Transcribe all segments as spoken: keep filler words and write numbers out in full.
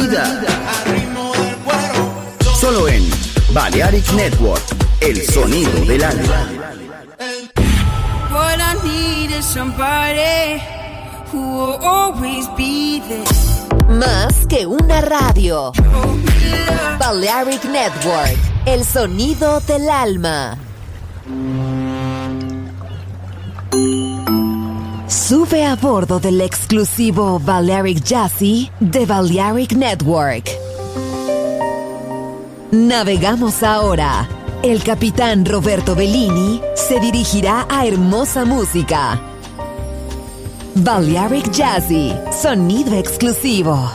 vida. Solo en Balearic Network, el sonido del alma. What I need is somebody who will always be there. Más que una radio. Balearic Network, el sonido del alma. Sube a bordo del exclusivo Balearic Jazzy de Balearic Network. Navegamos ahora. El capitán Roberto Bellini se dirigirá a hermosa música. Balearic Jazzy, sonido exclusivo.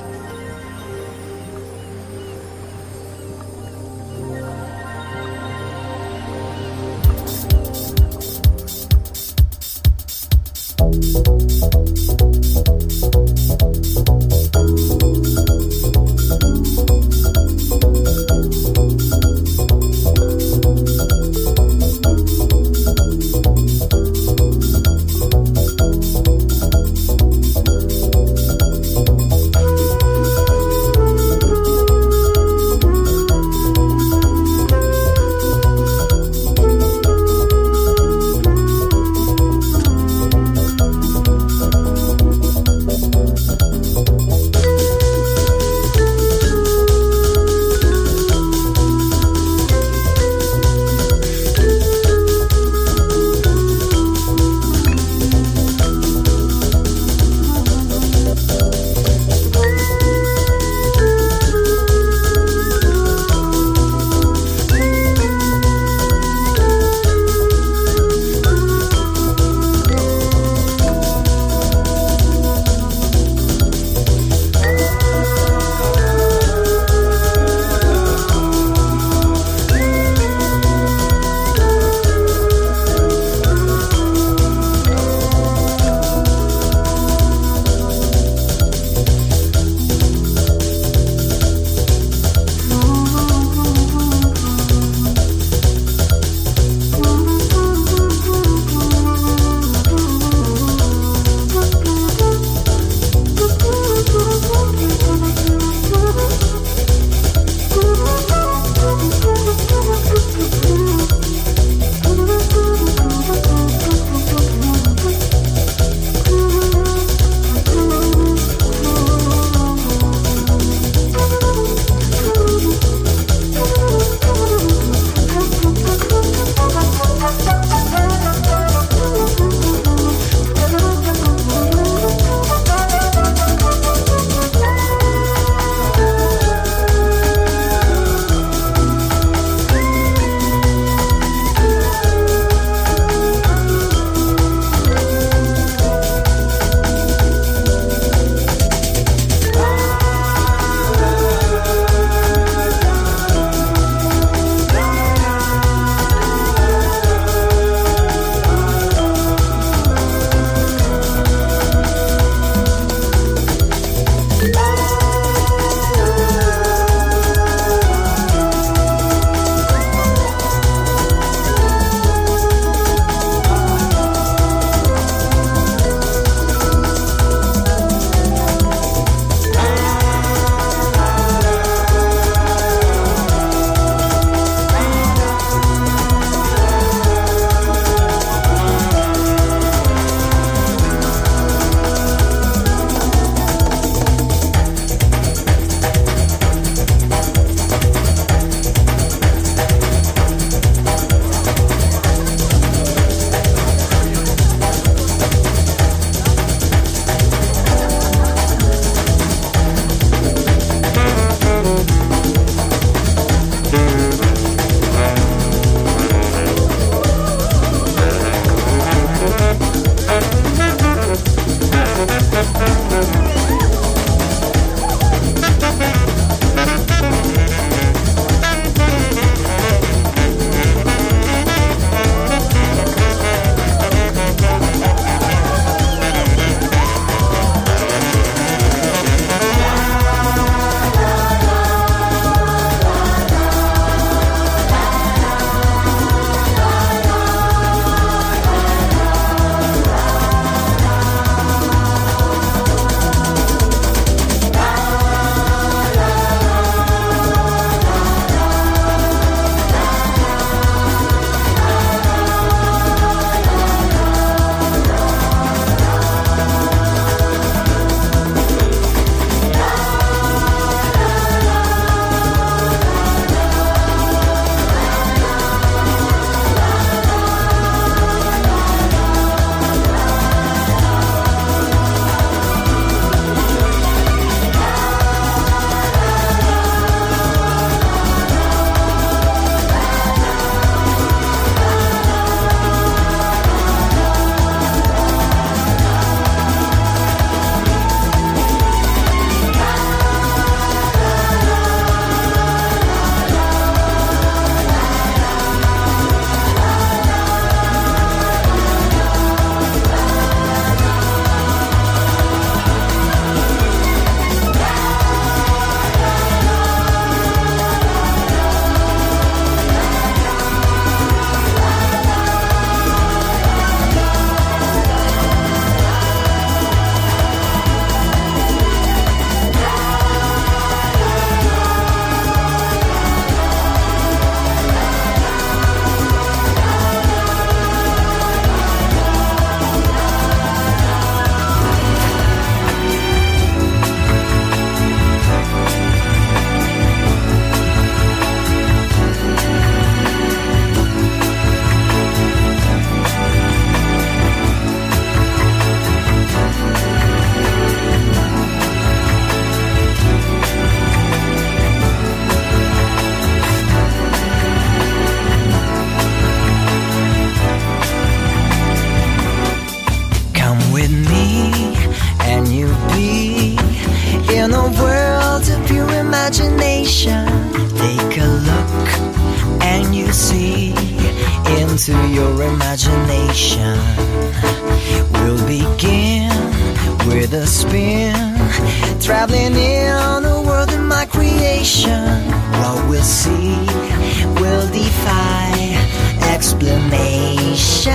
into your imagination. We'll begin with a spin, traveling in the world of my creation. What we'll see will defy explanation.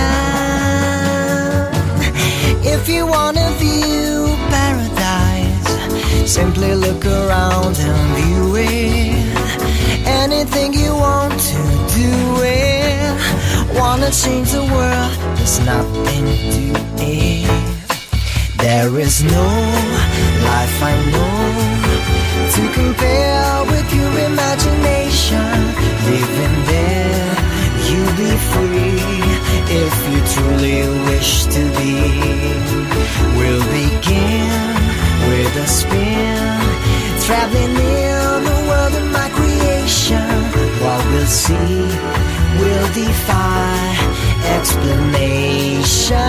If you wanna view paradise, simply look around and view it. Anything you want to do it. Wanna change the world, there's nothing to it. There is no life I know to compare with your imagination. Living there, you'll be free if you truly wish to be. We'll begin with a spin, traveling in the world of my creation. What we'll see will defy explanation.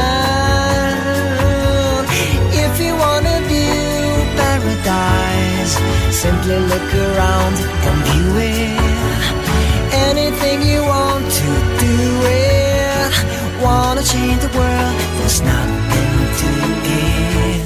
If you wanna view paradise, simply look around and view it. Anything you want to do it. Wanna change the world, there's nothing to it.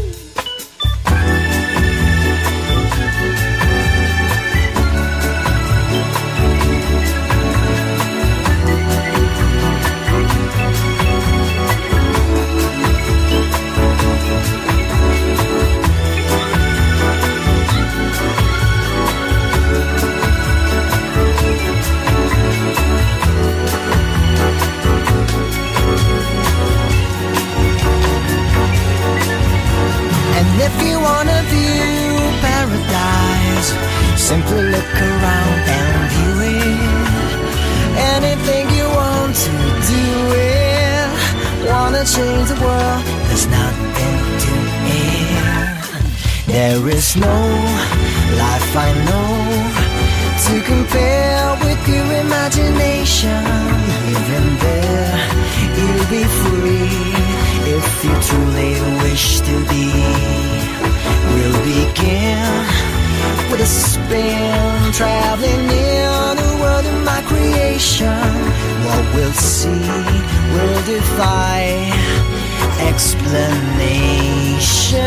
If you wanna view paradise, simply look around and view it. Anything you want to do it. Wanna change the world, there's nothing to it. There is no life I know to compare with your imagination. Even there, you'll be free if you truly wish to be. We'll begin with a spin, traveling in the world of my creation. What we'll see will defy explanation.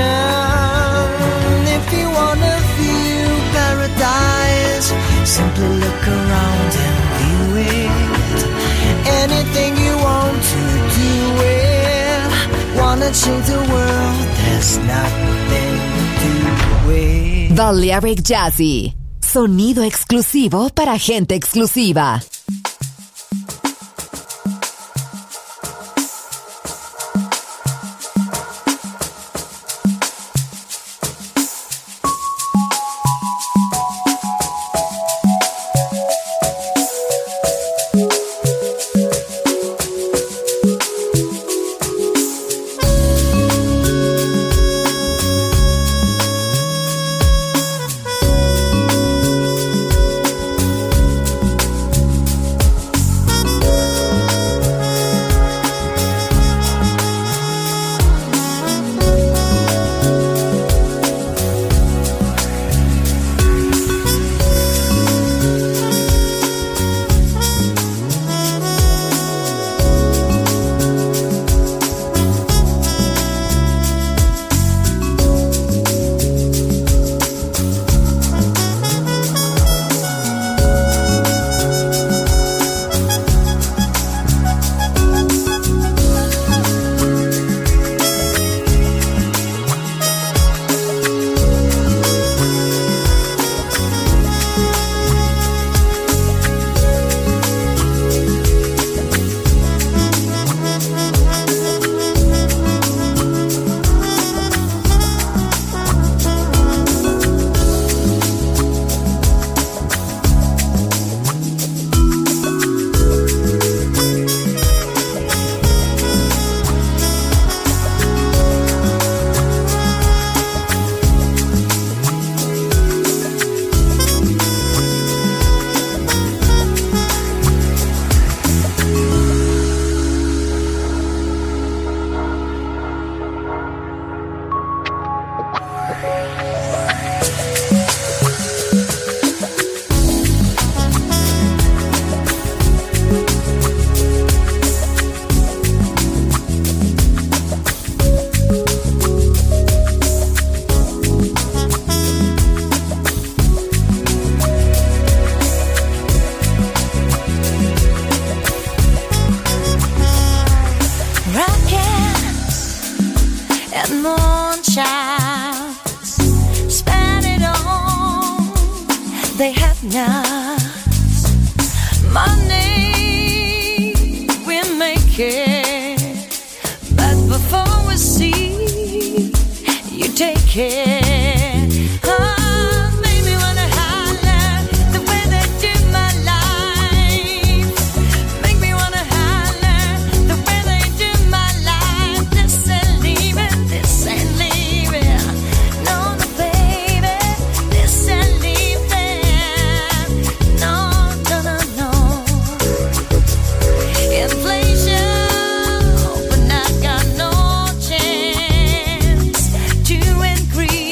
If you wanna view paradise, simply look around and view it. Anything you want to do it. Wanna change the world, there's nothing to it. Balearic Jazzy, sonido exclusivo para gente exclusiva. rockin' and moonshine, spend it all. They have not money, we make it, but before we see, you take it. Oh, make me wanna holler the way they do my life. Make me wanna holler the way they do my life. This ain't leaving, this ain't leaving. No, no, baby, this ain't leaving. No, no, no, no. Inflation, but I got no chance to increase.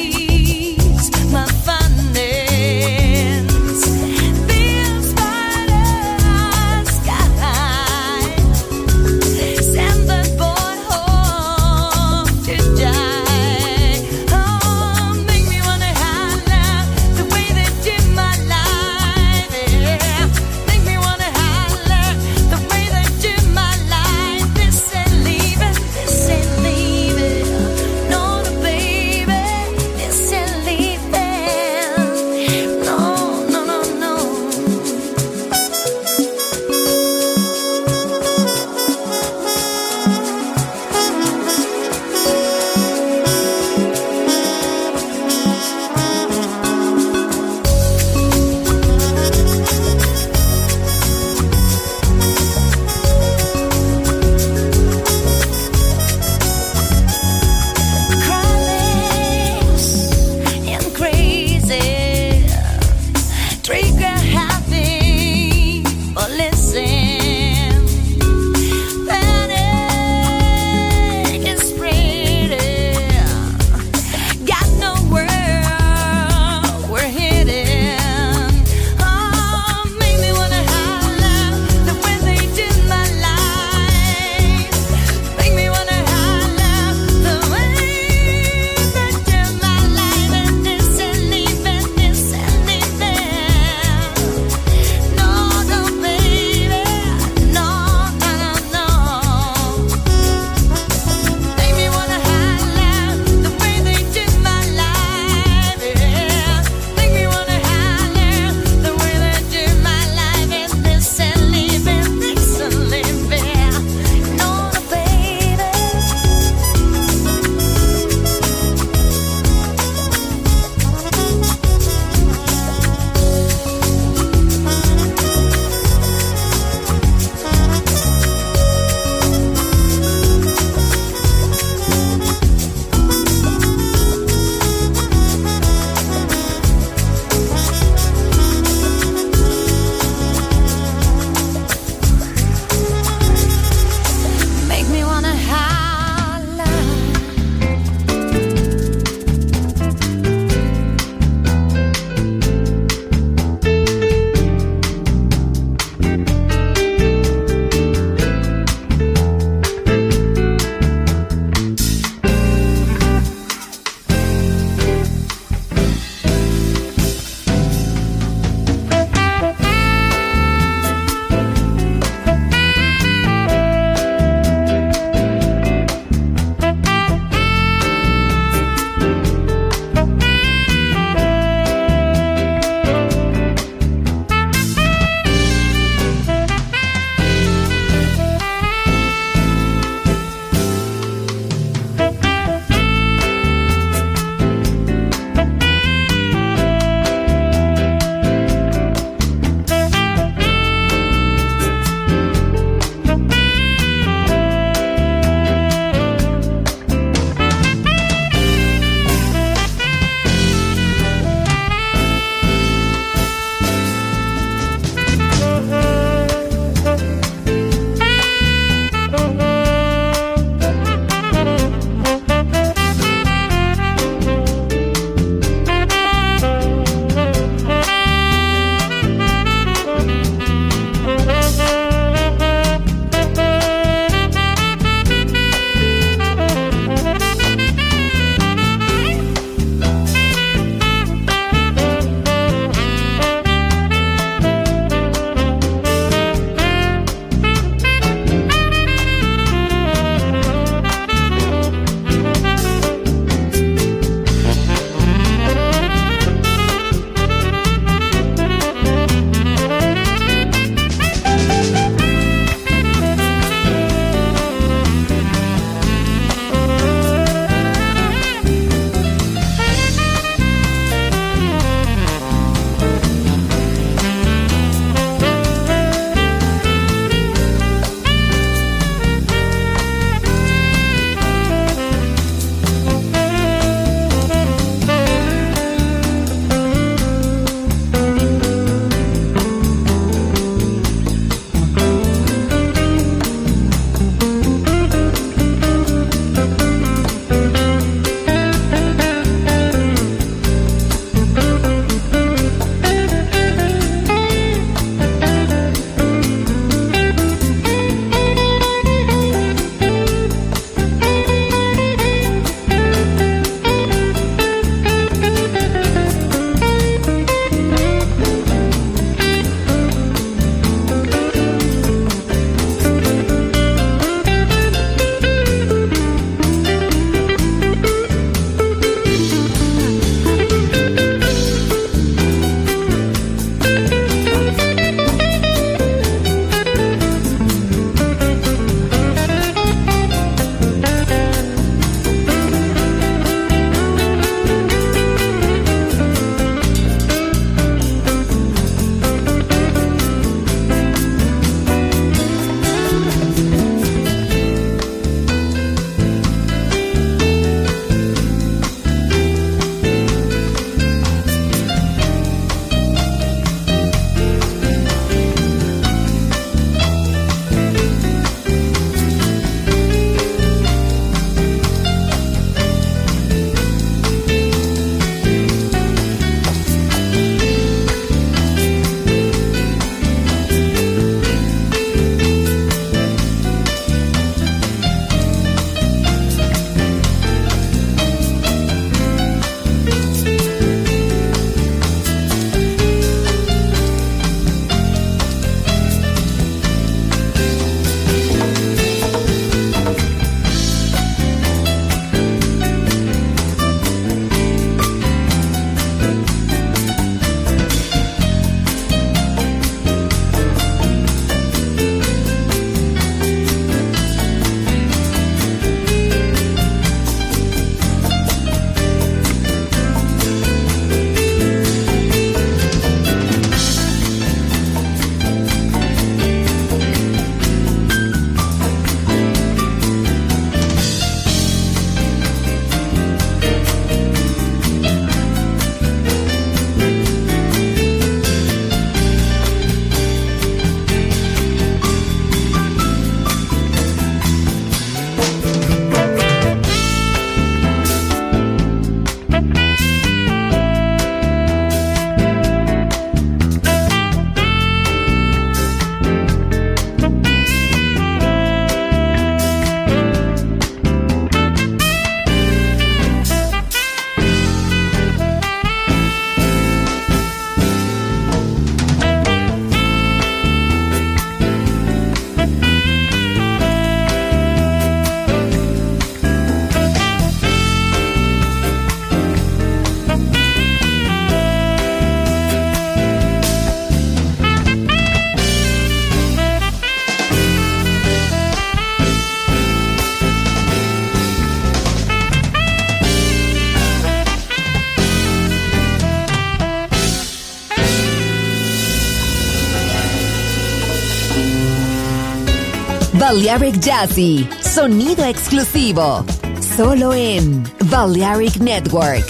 Balearic Jazzy, sonido exclusivo, solo en Balearic Network.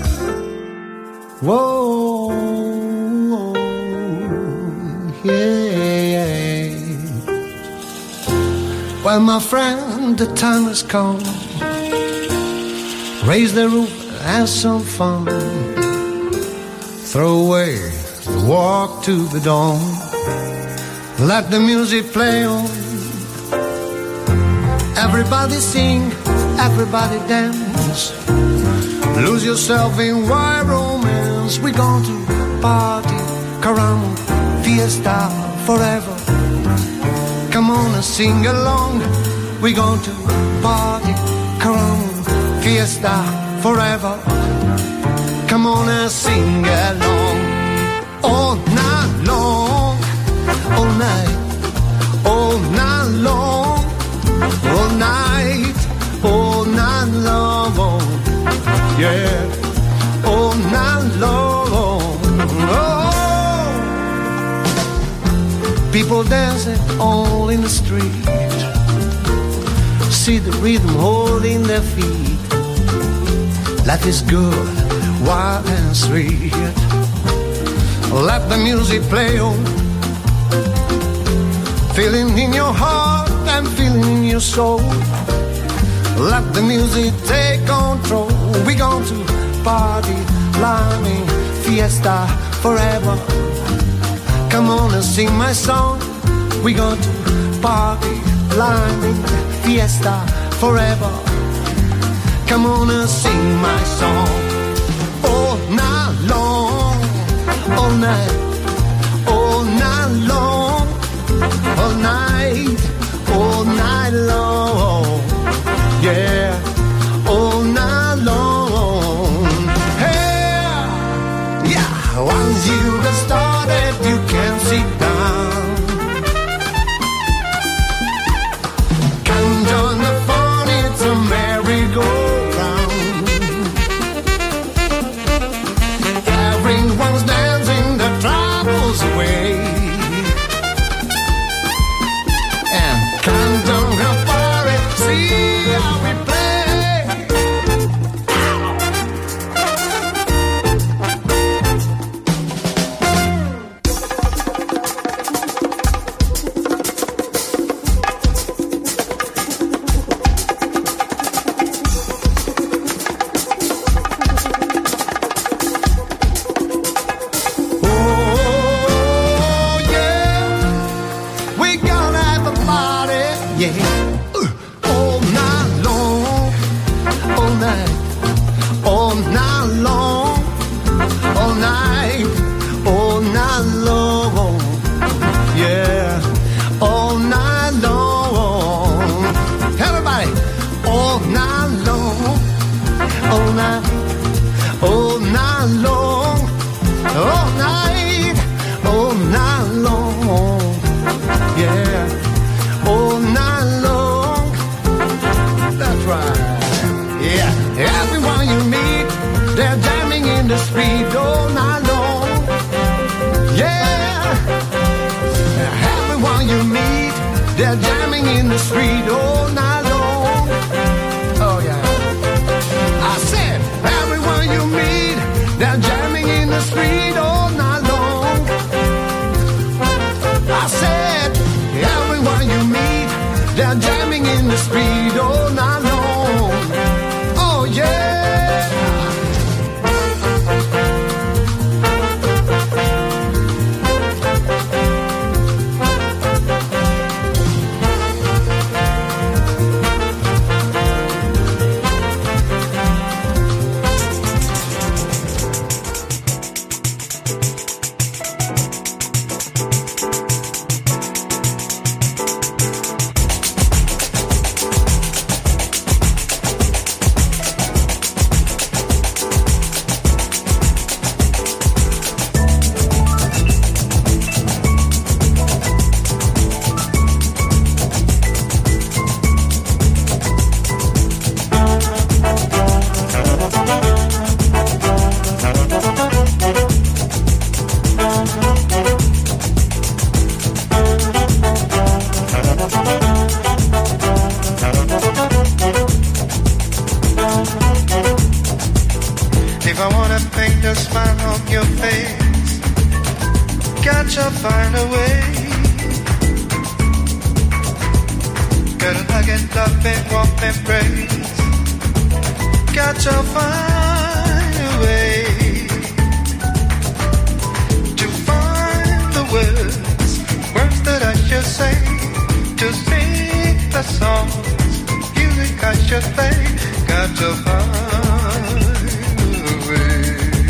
Whoa, yeah. Well, my friend, the time has come. Raise the roof, have some fun. Throw away the walk to the dawn. Let the music play on. Everybody sing, everybody dance. Lose yourself in wild romance. We're going to party, caramba, fiesta forever. Come on and sing along. We're going to party, caramba, fiesta forever. Come on and sing along. All night long, all night, all night long, all night, all night long, yeah, all night long. Oh, people dancing all in the street. See the rhythm holding their feet. Life is good, wild and sweet. Let the music play on. Feeling in your heart and feeling in your soul. Let the music take control. We're going to party, climbing, fiesta forever. Come on and sing my song. We're going to party, climbing, fiesta forever. Come on and sing my song. All night long, all night, all night long, all night, all night long, yeah, all night long. Hey, yeah, once you get started, you can't sit down. Come join the fun, it's a merry-go-round. Everyone's dancing the troubles away. And come down and party, see how we play. find a way. Gotta hug and love and warmth and embrace. Got to find a way to find the words, words that I should say, to sing the songs, music I should play. Got to find a way.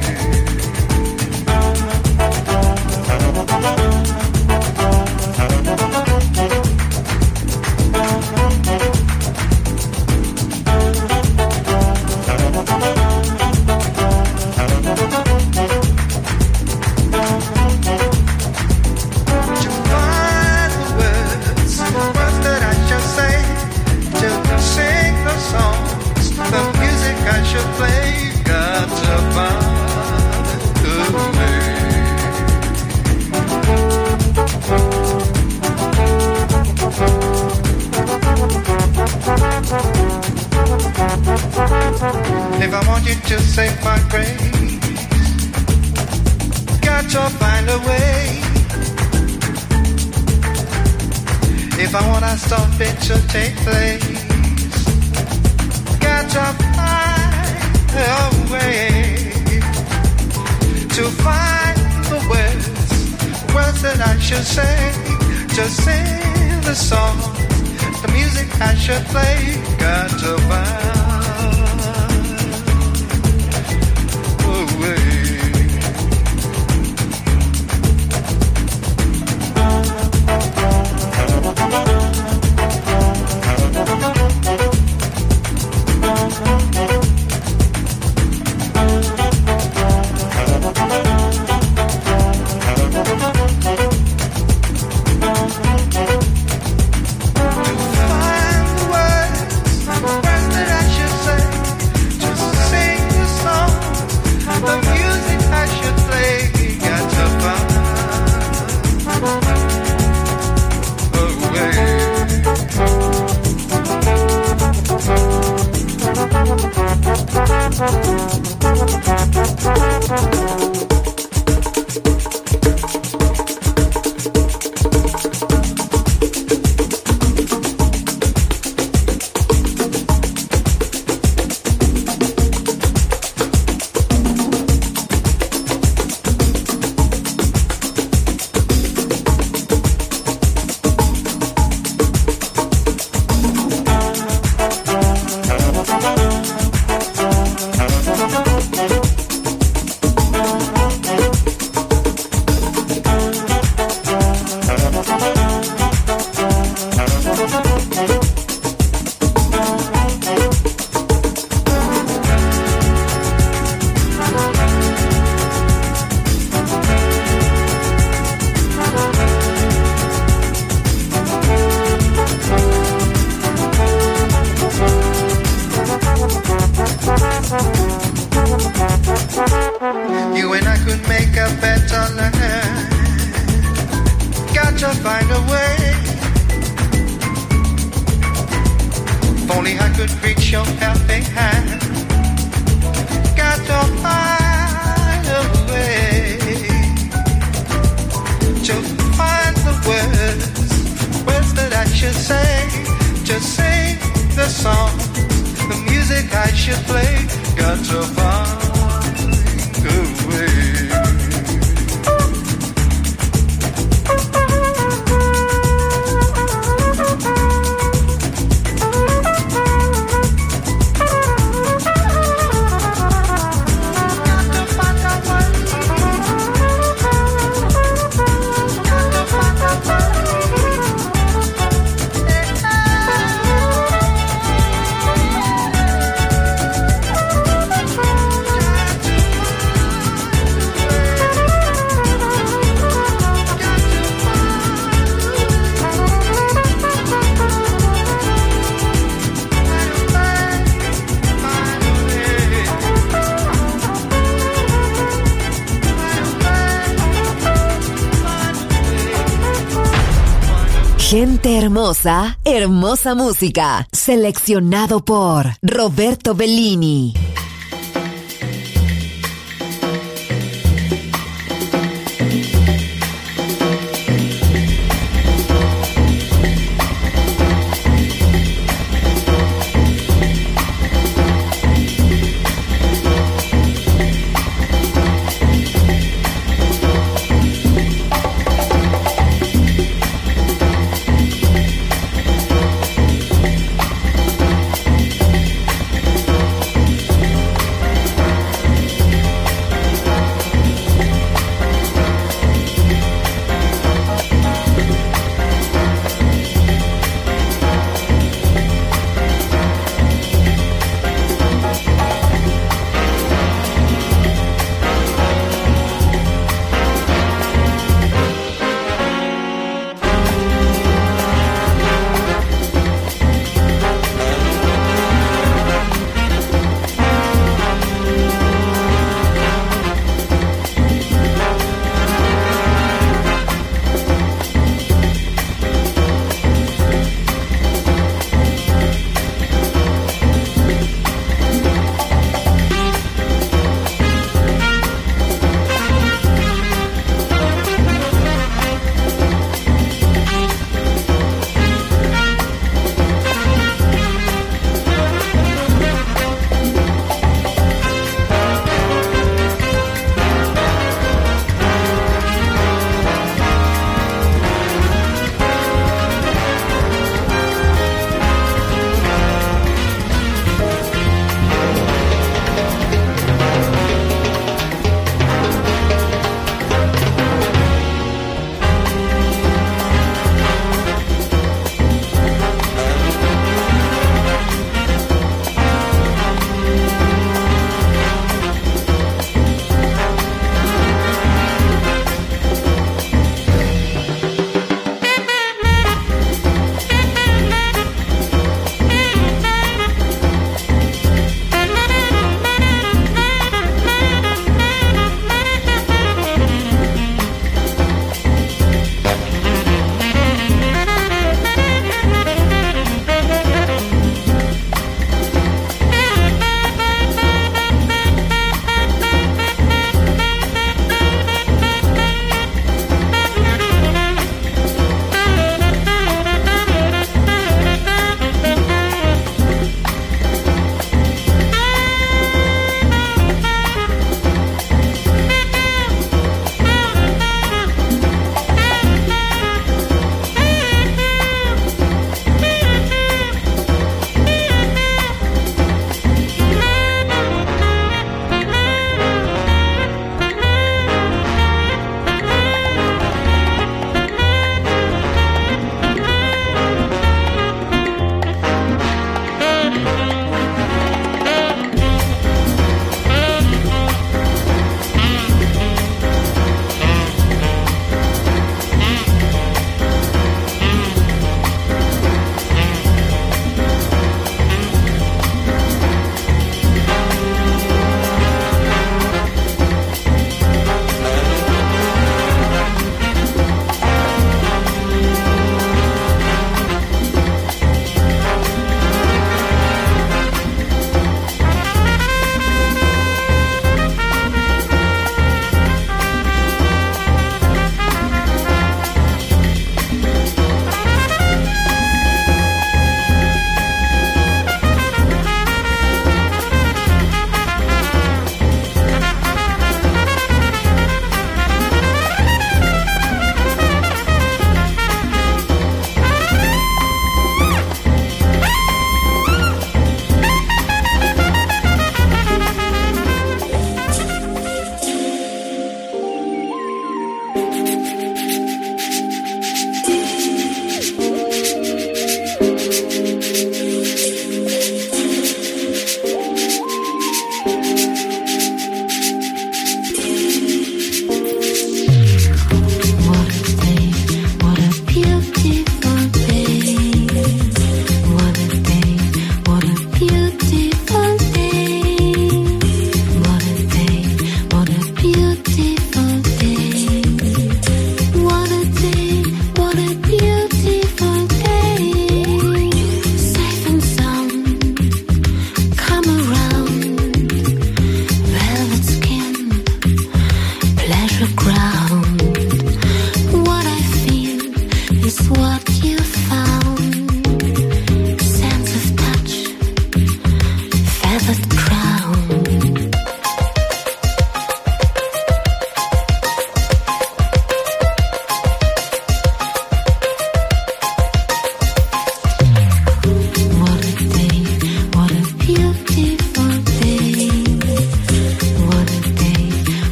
If I want you to say my grace, got to find a way. If I want to stop it to take place, got to find a way to find the words, words that I should say, to sing the song, the music I should play. Got to find Gente hermosa, hermosa música. Seleccionado por Roberto Bellini.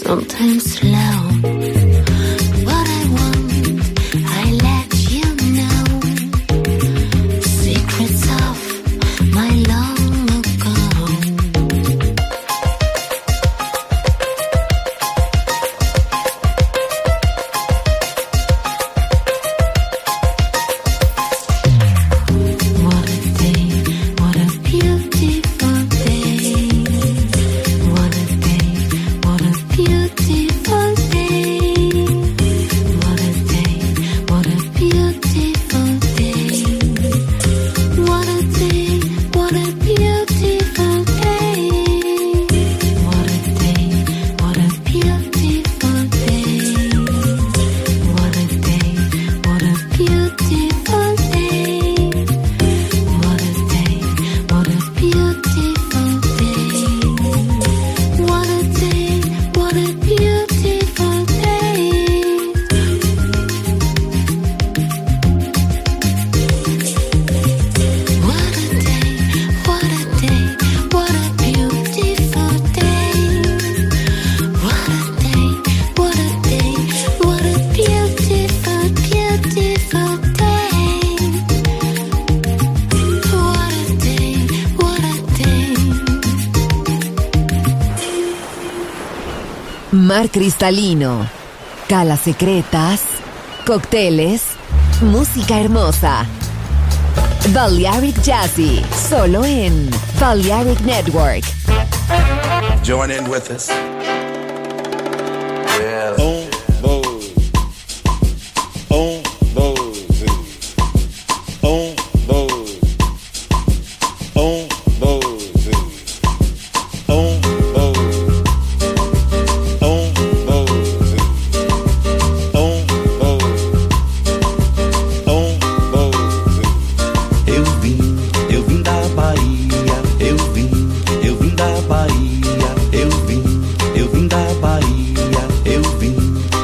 sometimes slow. What I want, I let you know. Secrets of my long ago. What a day, what a beautiful day. What a day, what a beautiful day. What a day, what a beautiful day. What a day, what a beautiful day. What a day, what a beautiful day. What a day, what a beautiful day. What a day, what a beautiful day. What a day, what a beautiful day. What a day, what a day, what a beautiful day. What a day, what a day, what a beautiful, beautiful day. What a day, what a day. Mar cristalino, calas secretas, cócteles, música hermosa. Balearic Jazzy, solo en Balearic Network. Join in with us. Yeah. On those, on those, on those, on those, on those, on those, on those, on those. Eu vim, eu vim da Bahia, eu vim, eu vim da Bahia, eu vim, eu vim da Bahia, eu vim,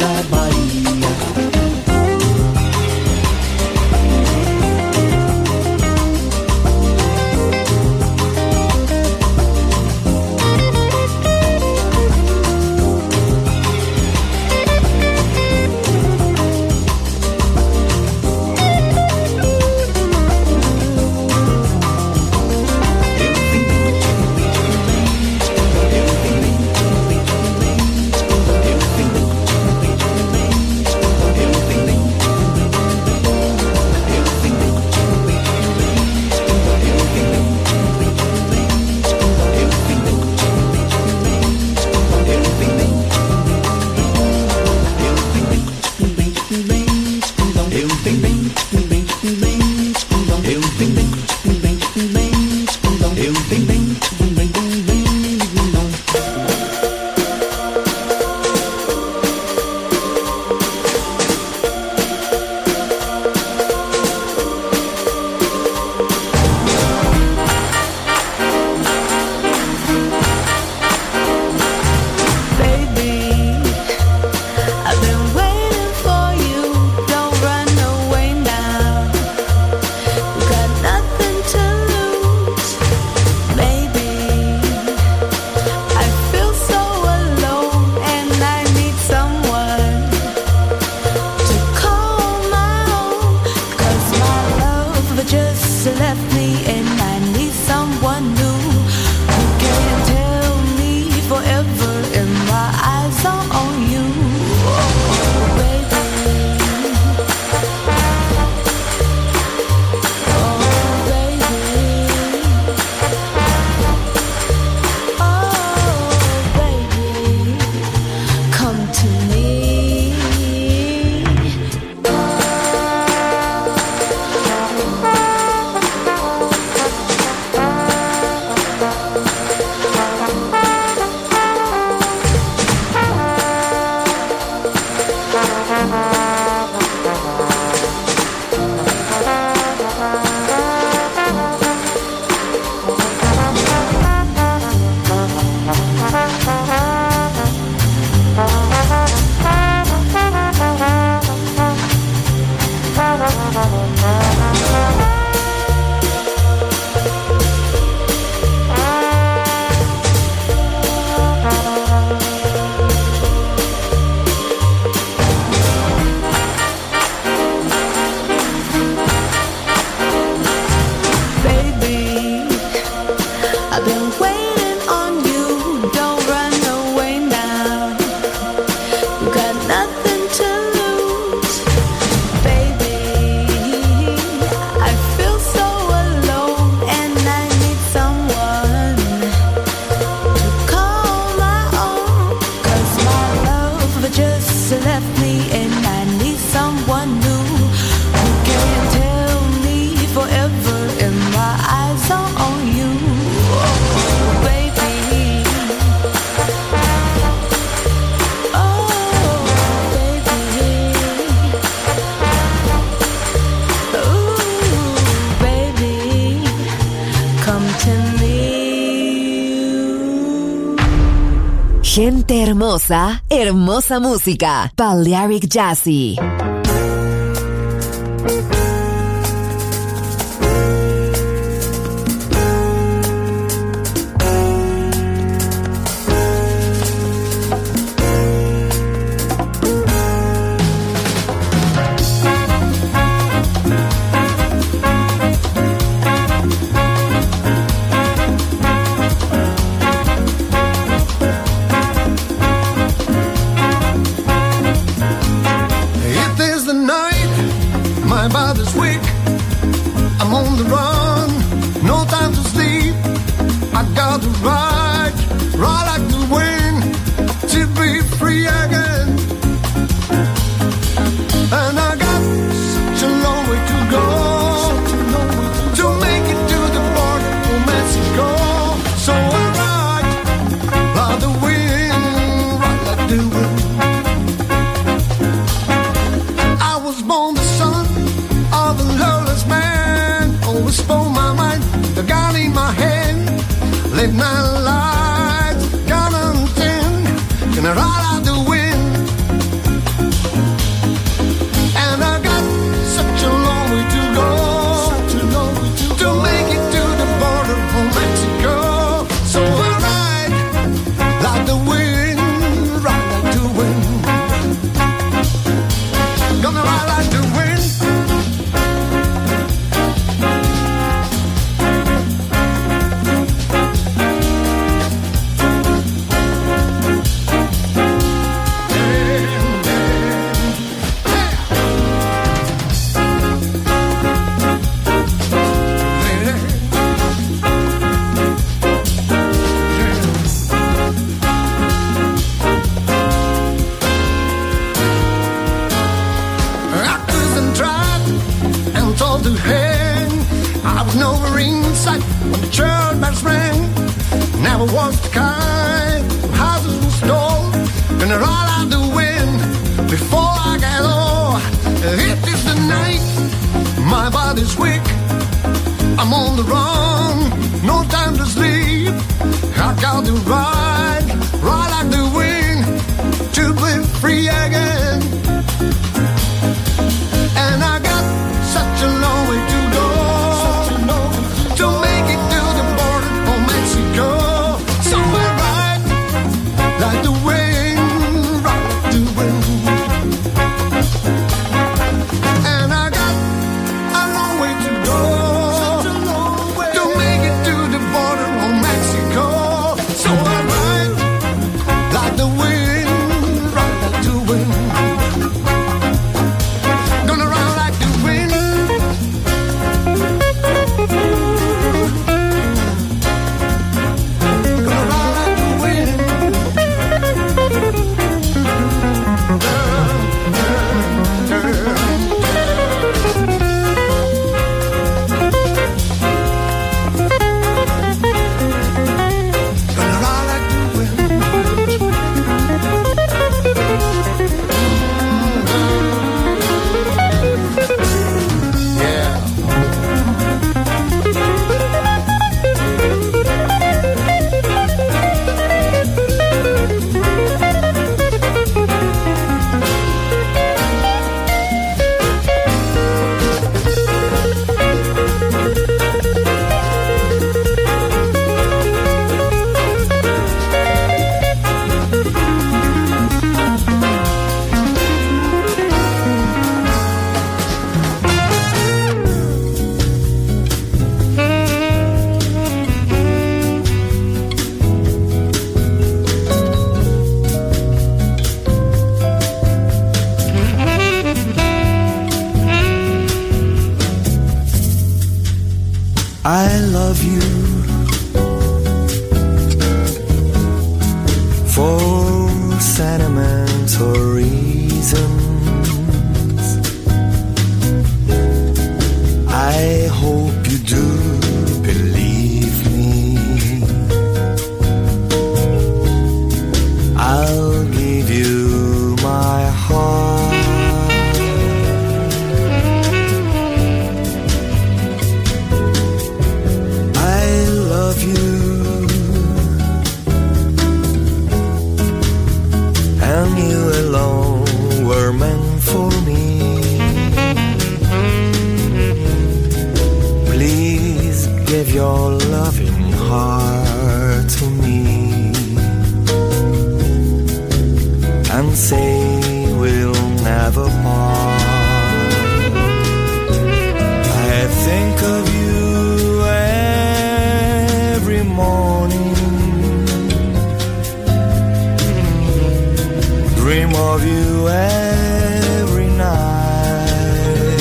da Bahia. Gente hermosa, hermosa música. Balearic Jazzy. I was born the son of a loveless man, always I was never inside when the church bells rang. Never was the kind of houses were stole. Gonna roll out the wind before I get old. It is the night, my body's weak. I'm on the run, no time to sleep. I got to ride, ride like the wind to be free again. And I got such a long way to go, such a long way to make it to the border of Mexico. Somewhere right, like the wind, right the wind. And I got a long way to go, such a long way to make it to the border of Mexico. Somewhere right, like the wind, right like the wind. Gonna ride like the wind. Gonna ride like the wind. Gonna ride like the wind. Yeah. I love you for sentimental reasons. I hope you do believe me. I'll give you my heart. And you alone were meant for me. Please give your loving heart to me and say we'll never part. I think of you every morning, dream of you every night.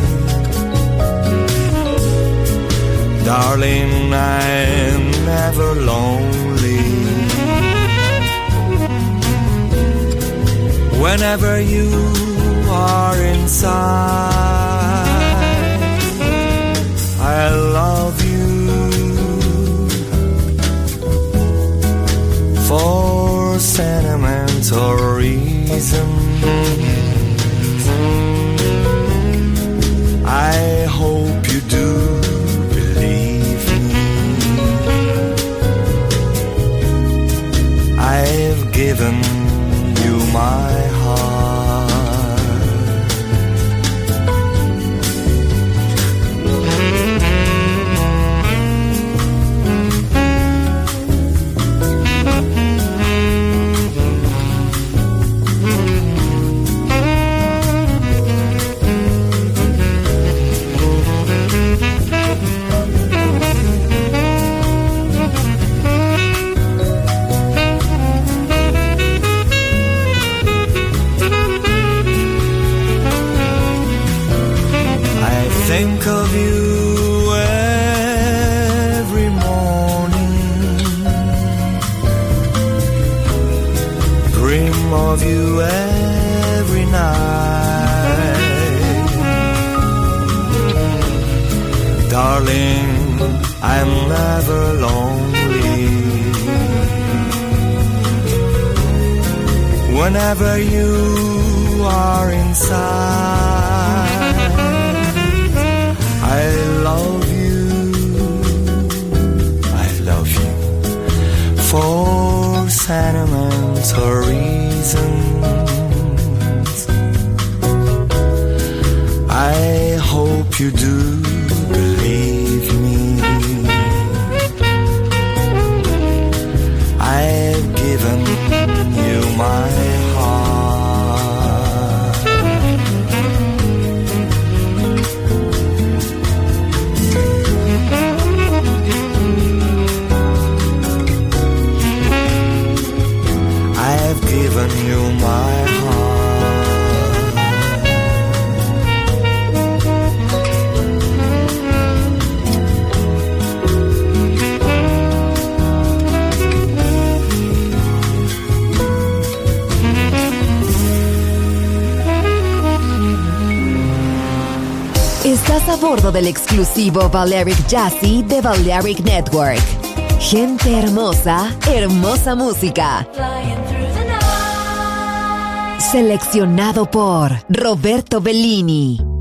Darling, I'm never lonely. Whenever you are inside, I love you for sentimental reasons. I hope you do believe me. I've given you my heart. Darling, I'm never lonely. Whenever you are inside, I love you, I love you for sentimental reasons. I hope you do believe me. I've given you my heart. I've given you my heart. Estás a bordo del exclusivo Balearic Jazzy de Balearic Network. Gente hermosa, hermosa música. Seleccionado por Roberto Bellini.